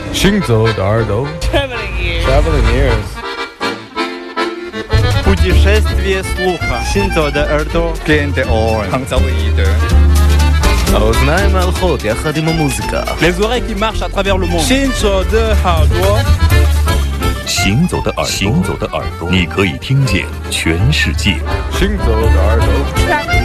行走的耳朵 Traveling ears. Путешествие слуха. Синзо де Эрдо. Cliente on. האוזניים הלכות יחד עם המוזיקה. Les oreilles qui marchent à travers le monde. Shinzo de Hardwa. 行走的耳朵，你可以听见全世界。 行走的耳朵。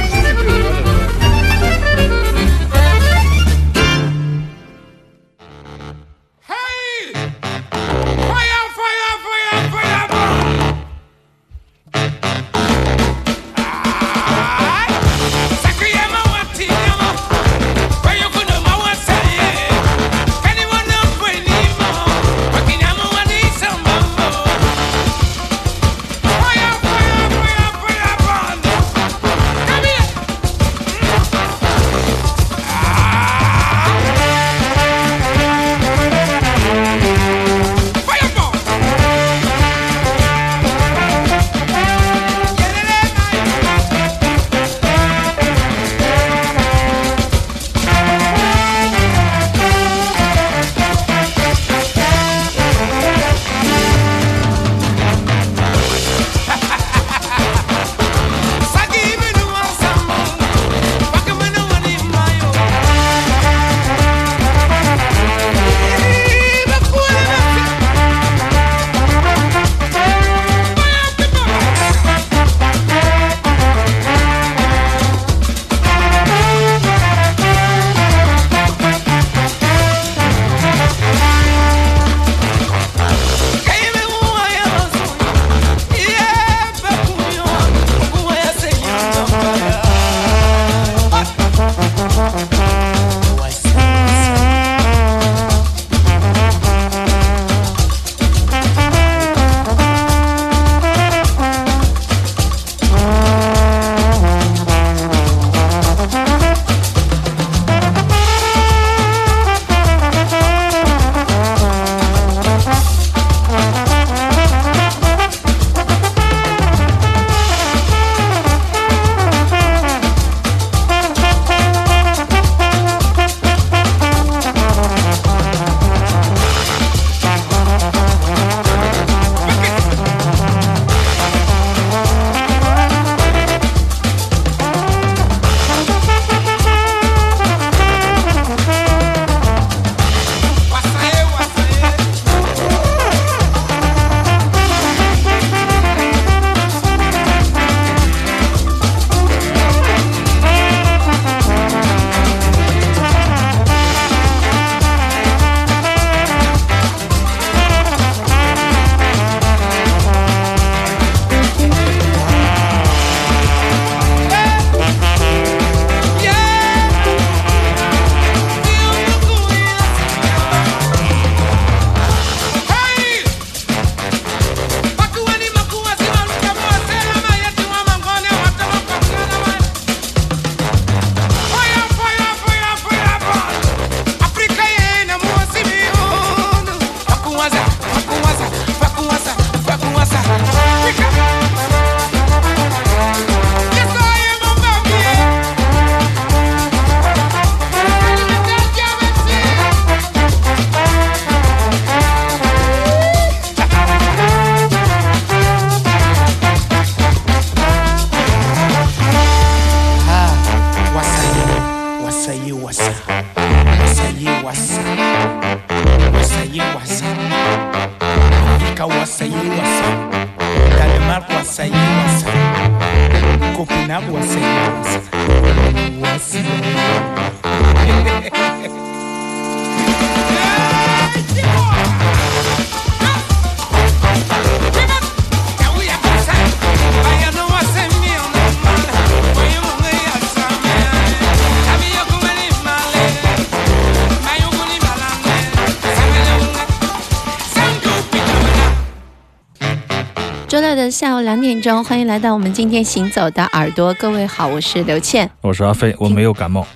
周六的下午2点钟，欢迎来到我们今天行走的耳朵。各位好，我是刘倩， 我是阿飞，我没有感冒。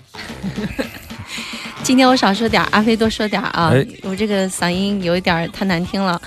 今天我少说点，阿飞多说点啊！我这个嗓音有一点太难听了。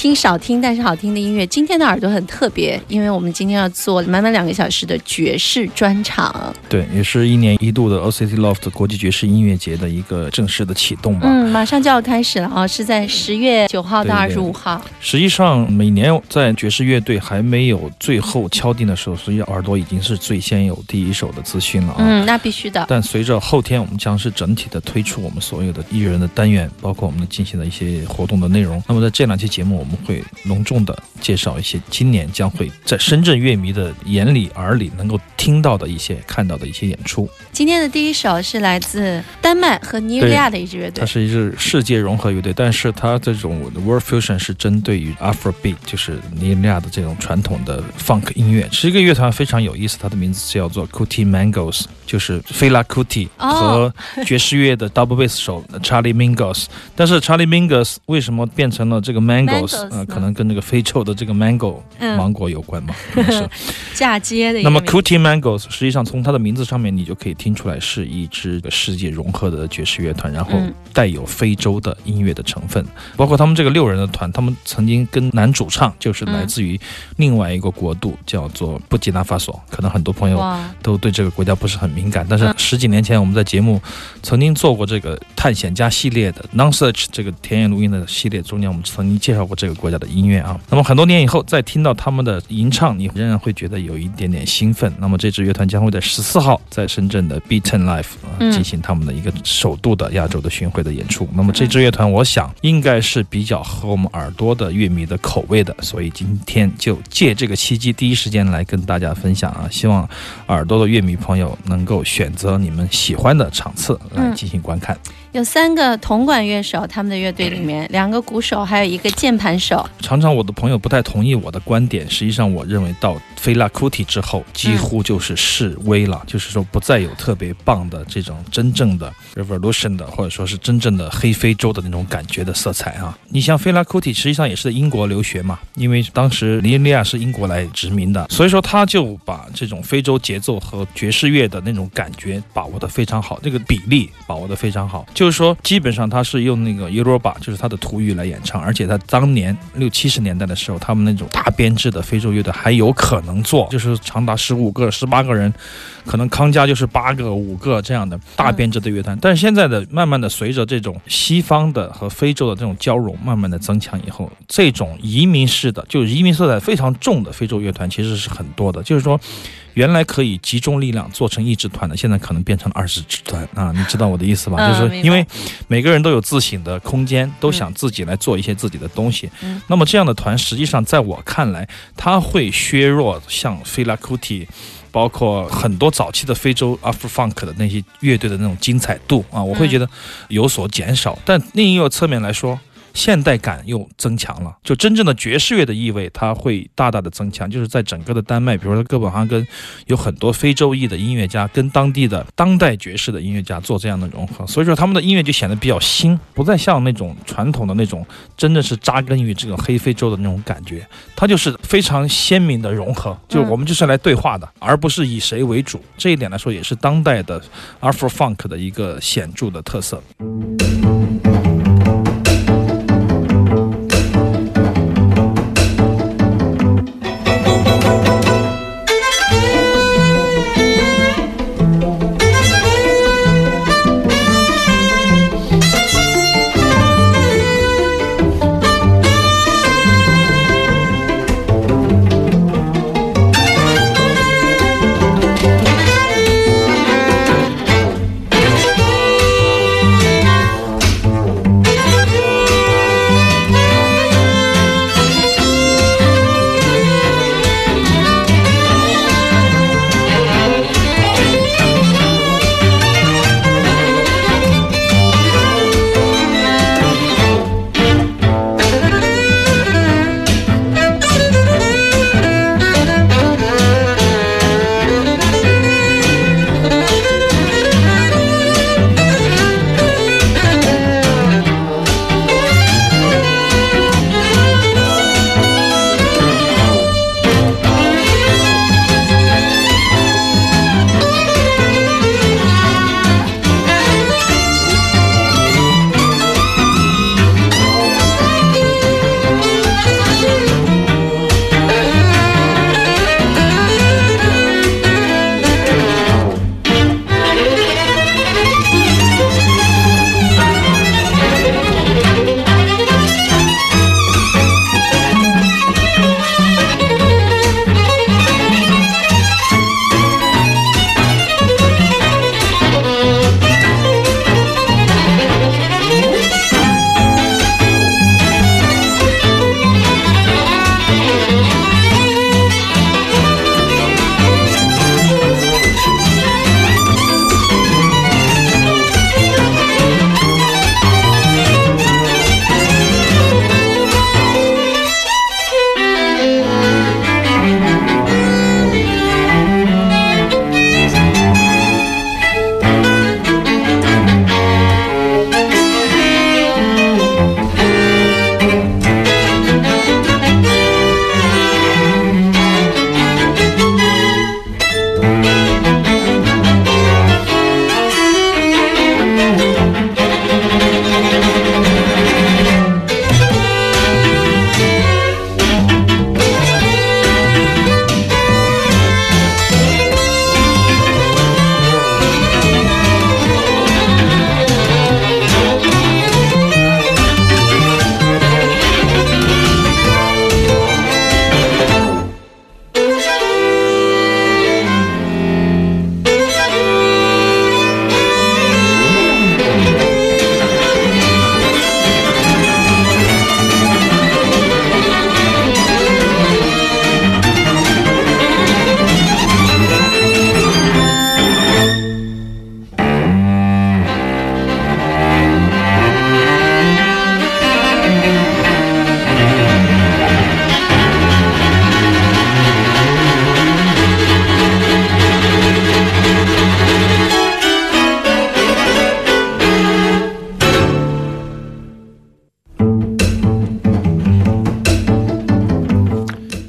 听少听但是好听的音乐。今天的耳朵很特别，因为我们今天要做满满2个小时的爵士专场。 对，也是1年1度的 OCT Loft 国际爵士音乐节的一个正式的启动吧。 马上就要开始了啊，是在10月9号到25号。 实际上每年在爵士乐队还没有最后敲定的时候，实际上耳朵已经是最先有第一手的资讯了啊。 那必须的。 但随着后天我们将是整体的推出我们所有的艺人的单元，包括我们进行的一些活动的内容。那么在这2期节目，我们会隆重的介绍一些今年将会在深圳乐迷的眼里耳里能够听到的一些看到的一些演出。 今天的第一首是来自丹麦和尼日利亚的一支乐队， 它是一支世界融合乐队，但是它这种 World Fusion 是针对于 Afrobeat， 就是尼日利亚的这种传统的 Funk 音乐。是一个乐团非常有意思，它的名字叫做 Kuti Mangos， 就是菲拉 Kuti 和爵士乐的 double bass 手 Charlie Mingus。但是 Charlie Mingus 为什么变成了这个 Mangos？ 可能跟这个非洲的这个 Mango 芒果有关嘛，可能是嫁接的一个。 那么 Kuti Mangos 实际上从它的名字上面你就可以听出来是一支世界融合的爵士乐团，然后带有非洲的音乐的成分。包括他们这个6人的团，他们曾经跟男主唱就是来自于另外一个国度，叫做布基纳法索。可能很多朋友都对这个国家不是很敏感，但是10几年前我们在节目曾经做过这个探险家系列的 Non-Search 这个田野录音的系列中间，我们曾经介绍过这个国家的音乐啊。那么很多年以后再听到他们的吟唱，你仍然会觉得有一点点兴奋。那么这支乐团将会在14号在深圳的 B10 Live 进行他们的一个首度的亚洲的巡回的演出。那么这支乐团我想应该是比较合我们耳朵的乐迷的口味的，所以今天就借这个契机第一时间来跟大家分享啊，希望耳朵的乐迷朋友能够选择你们喜欢的场次来进行观看。 有3个铜管乐手，他们的乐队里面2个鼓手，还有1个键盘手。 常常我的朋友不太同意我的观点，实际上我认为到菲拉库蒂之后几乎就是式微了，就是说不再有特别棒的这种真正的 revolution 的，或者说是真正的黑非洲的那种感觉的色彩啊。你像菲拉库蒂实际上也是在英国留学嘛，因为当时尼日利亚是英国来殖民的，所以说他就把这种非洲节奏和爵士乐的那种感觉把握得非常好，这个比例把握得非常好。就是说基本上他是用那个 Yoruba 就是他的土语来演唱，而且他当年60、70年代的时候，他们那种大编制的非洲乐队还有可能做，就是长达15个、18个人，可能康佳就是8个、5个这样的大编制的乐团。但是现在的慢慢的随着这种西方的和非洲的这种交融慢慢的增强以后，这种移民式的就是移民色彩非常重的非洲乐团其实是很多的，就是说原来可以集中力量做成1支团的，现在可能变成了20支团啊，你知道我的意思吧？就是因为每个人都有自省的空间，都想自己来做一些自己的东西。那么这样的团实际上在我看来，它会削弱像菲拉库蒂包括很多早期的非洲 Afro-Funk 的那些乐队的那种精彩度啊，我会觉得有所减少。但另一个侧面来说，现代感又增强了，就真正的爵士乐的意味它会大大的增强。就是在整个的丹麦，比如说哥本哈根有很多非洲裔的音乐家跟当地的当代爵士的音乐家做这样的融合，所以说他们的音乐就显得比较新，不再像那种传统的那种真的是扎根于这个黑非洲的那种感觉，它就是非常鲜明的融合，就是我们就是来对话的，而不是以谁为主。这一点来说也是当代的 Afro-Funk 的一个显著的特色。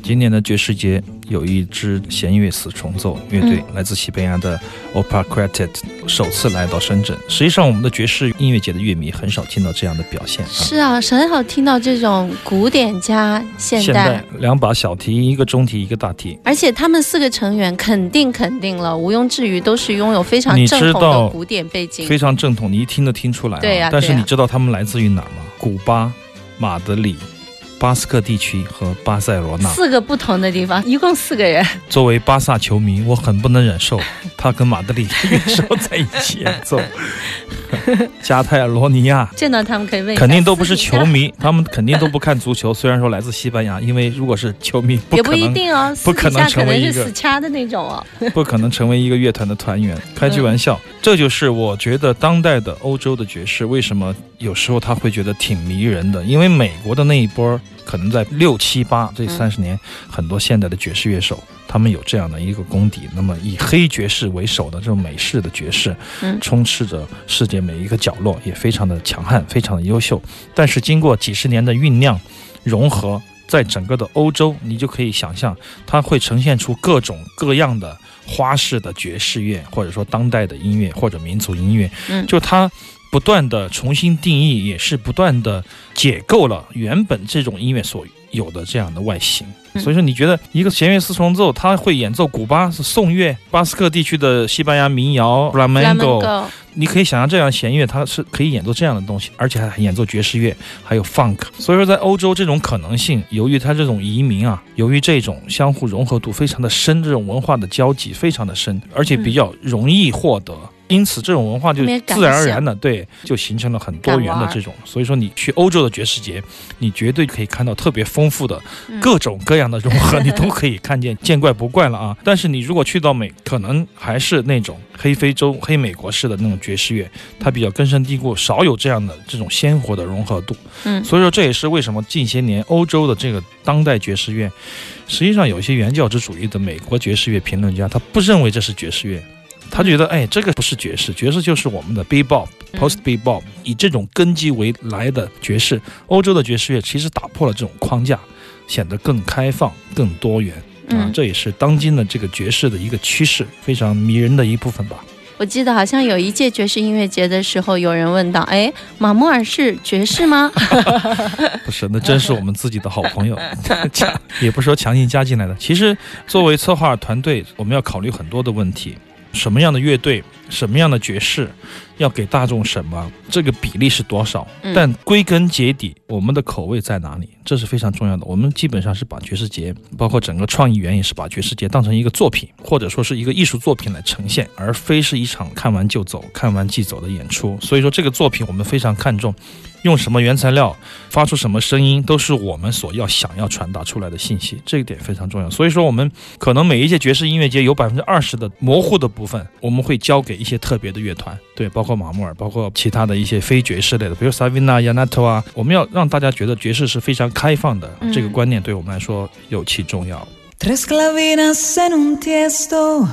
今年的爵士节有一支弦乐四重奏乐队，来自西班牙的 Opera Quartet 首次来到深圳。实际上我们的爵士音乐节的乐迷很少听到这样的表现。 是啊，很少听到这种古典加现代两把小提，一个中提一个大提， 而且他们4个成员肯定了，毋庸置疑都是拥有非常正统的古典背景， 非常正统，你一听都听出来。 对啊， 但是你知道他们来自于哪吗？古巴、马德里、巴斯克地区和巴塞罗那 ，4个不同的地方，一共4个人。 作为巴萨球迷，我很不能忍受他跟马德里乐手在一起演奏。加泰罗尼亚见到他们可以问， 肯定都不是球迷，他们肯定都不看足球。虽然说来自西班牙，因为如果是球迷， 也不一定哦， 不可能成为一个， 可能是死掐的那种哦， 不可能成为一个乐团的团员。开句玩笑，这就是我觉得当代的欧洲的爵士为什么有时候他会觉得挺迷人的，因为美国的那一波可能在6、7、8这30年，很多现代的爵士乐手他们有这样的一个功底。那么以黑爵士为首的这种美式的爵士，充斥着世界每一个角落，也非常的强悍，非常的优秀。但是经过几十年的酝酿融合，在整个的欧洲，你就可以想象它会呈现出各种各样的花式的爵士乐，或者说当代的音乐或者民族音乐，就它不断的重新定义，也是不断的解构了原本这种音乐所有的这样的外形。所以说你觉得一个弦乐四重奏，他会演奏古巴是颂乐，巴斯克地区的西班牙民谣 Flamenco， 你可以想象这样的弦乐它是可以演奏这样的东西，而且还演奏爵士乐还有 funk。 所以说在欧洲这种可能性，由于它这种移民啊，由于这种相互融合度非常的深，这种文化的交集非常的深，而且比较容易获得，因此这种文化就自然而然的就形成了很多元的这种。所以说你去欧洲的爵士节，你绝对可以看到特别丰富的各种各样的融合，你都可以看见，见怪不怪了啊。但是你如果去到可能还是那种黑非洲黑美国式的那种爵士乐，它比较根深蒂固，少有这样的这种鲜活的融合度。所以说这也是为什么近些年欧洲的这个当代爵士乐，实际上有一些原教旨主义的美国爵士乐评论家，他不认为这是爵士乐，他觉得这个不是爵士，爵士就是我们的 bebop post bebop， 以这种根基为来的爵士。欧洲的爵士乐其实打破了这种框架，显得更开放更多元这也是当今的这个爵士的一个趋势，非常迷人的一部分吧。 我记得好像有一届爵士音乐节的时候，有人问到马莫尔是爵士吗？ 不是，那真是我们自己的好朋友也不是说强行加进来的。其实作为策划团队，我们要考虑很多的问题，什么样的乐队，什么样的爵士，要给大众什么，这个比例是多少，但归根结底我们的口味在哪里，这是非常重要的。我们基本上是把爵士节，包括整个创意园也是把爵士节当成一个作品，或者说是一个艺术作品来呈现，而非是一场看完就走看完即走的演出。所以说这个作品我们非常看重，用什么原材料，发出什么声音，都是我们所想要传达出来的信息，这一点非常重要。所以说我们可能每一届爵士音乐节有 20% 的模糊的部分，我们会交给一些特别的乐团，对，包括马莫尔，包括其他的一些非爵士类的，比如 Savina Yanato 啊，我们要让大家觉得爵士是非常开放的，这个观念对我们来说尤其重要。 Tres clavinas en un tiesto,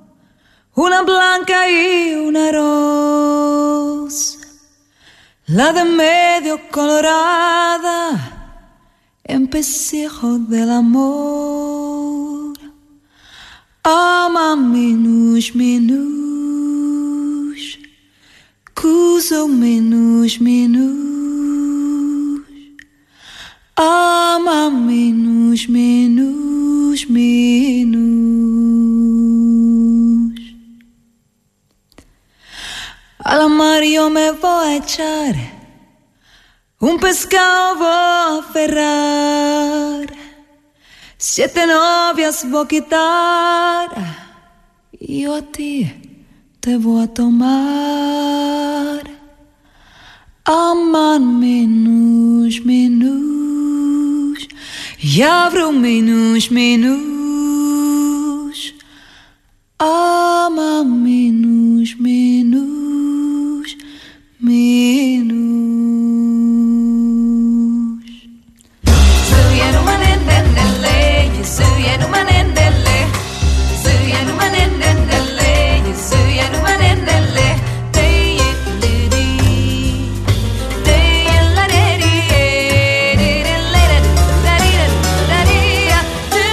una blanca y una rosa, la de medio colorada, empecijo del amor. Ama menos, menos, cuso menos, menos. Ama menos, menos, menos. Al mar yo me voy a echar, un pescado voy a aferrar, 7 novias voy a quitar, y yo a ti te voy a tomar. Aman menos, menos, y abro menos, menos. Aman menos, menos, menos. Suyenu manendele, suyenu manendele, suyenu manendele, suyenu manendele. Do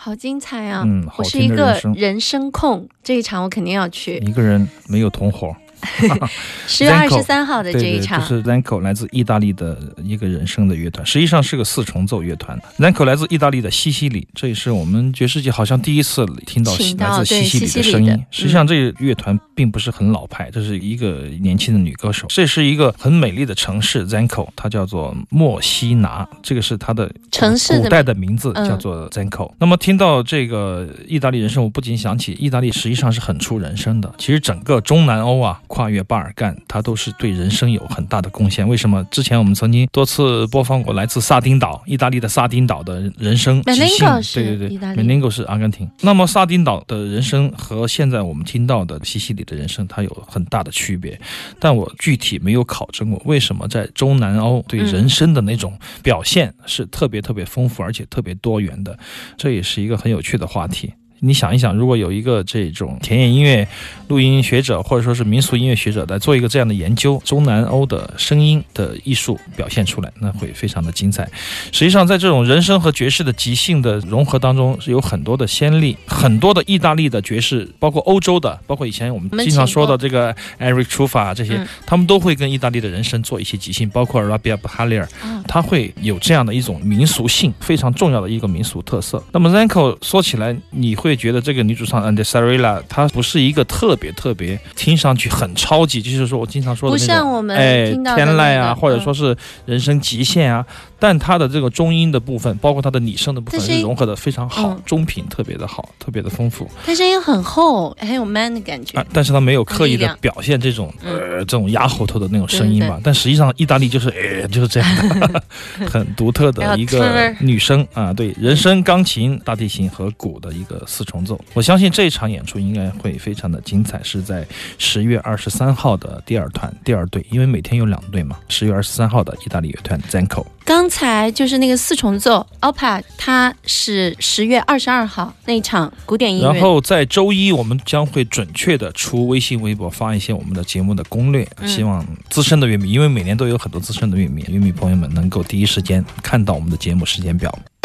好精彩啊！ 好我是一个听的人生人声控，这一场我肯定要去。 一个人没有同伙。 10月23号的这一场， 对，就是 Zanko 来自意大利的一个人声的乐团，实际上是个4重奏乐团。Zanko 来自意大利的西西里，这也是我们爵士界好像第一次听到来自西西里的声音。实际上这个乐团并不是很老派，这是一个年轻的女歌手。这是一个很美丽的城市 Zanko， 它叫做墨西拿，这个是它的城市古代的名字，叫做 Zanko。那么听到这个意大利人声，我不禁想起意大利实际上是很出人声的。其实整个中南欧啊，跨越巴尔干，它都是对人声有很大的贡献。为什么？之前我们曾经多次播放过来自萨丁岛，意大利的萨丁岛的人声即兴，对，Meningo 是阿根廷。那么萨丁岛的人声和现在我们听到的西西里的人声，它有很大的区别。但我具体没有考证过，为什么在中南欧对人声的那种表现是特别丰富而且特别多元的，这也是一个很有趣的话题。你想一想，如果有一个这种田野音乐录音学者或者说是民俗音乐学者来做一个这样的研究，中南欧的声音的艺术表现出来，那会非常的精彩。实际上在这种人声和爵士的即兴的融合当中，是有很多的先例，很多的意大利的爵士，包括欧洲的，包括以前我们经常说的这个 Eric Trufa 这些，他们都会跟意大利的人声做一些即兴，包括 Rabia Bahalir， 他会有这样的一种民俗性，非常重要的一个民俗特色。那么 Zanko 说起来，你会觉得这个女主唱 Andesarella 她不是一个特别听上去很超级，就是说我经常说的那种， 不像我们听到的天籁啊，或者说是人声极限啊，但她的这个中音的部分，包括她的拟声的部分是融合的非常好，中频特别的好，特别的丰富。 她声音很厚，很有 man 的感觉， 但是她没有刻意的表现这种这种压喉头的那种声音吧。但实际上意大利就是这样的很独特的一个女声啊，对，人声、钢琴、大提琴和鼓的一个4重奏。我相信这一场演出应该会非常的精彩，是在10月23号的第2团第2队，因为每天有2队嘛。10月23号的意大利乐团 Zanko。 刚才就是那个4重奏 Opera， 它是10月22号那一场古典音乐。 然后在周一我们将会准确的出微信微博发一些我们的节目的攻略，希望资深的乐迷，因为每年都有很多资深的乐迷朋友们能够第一时间看到我们的节目时间表。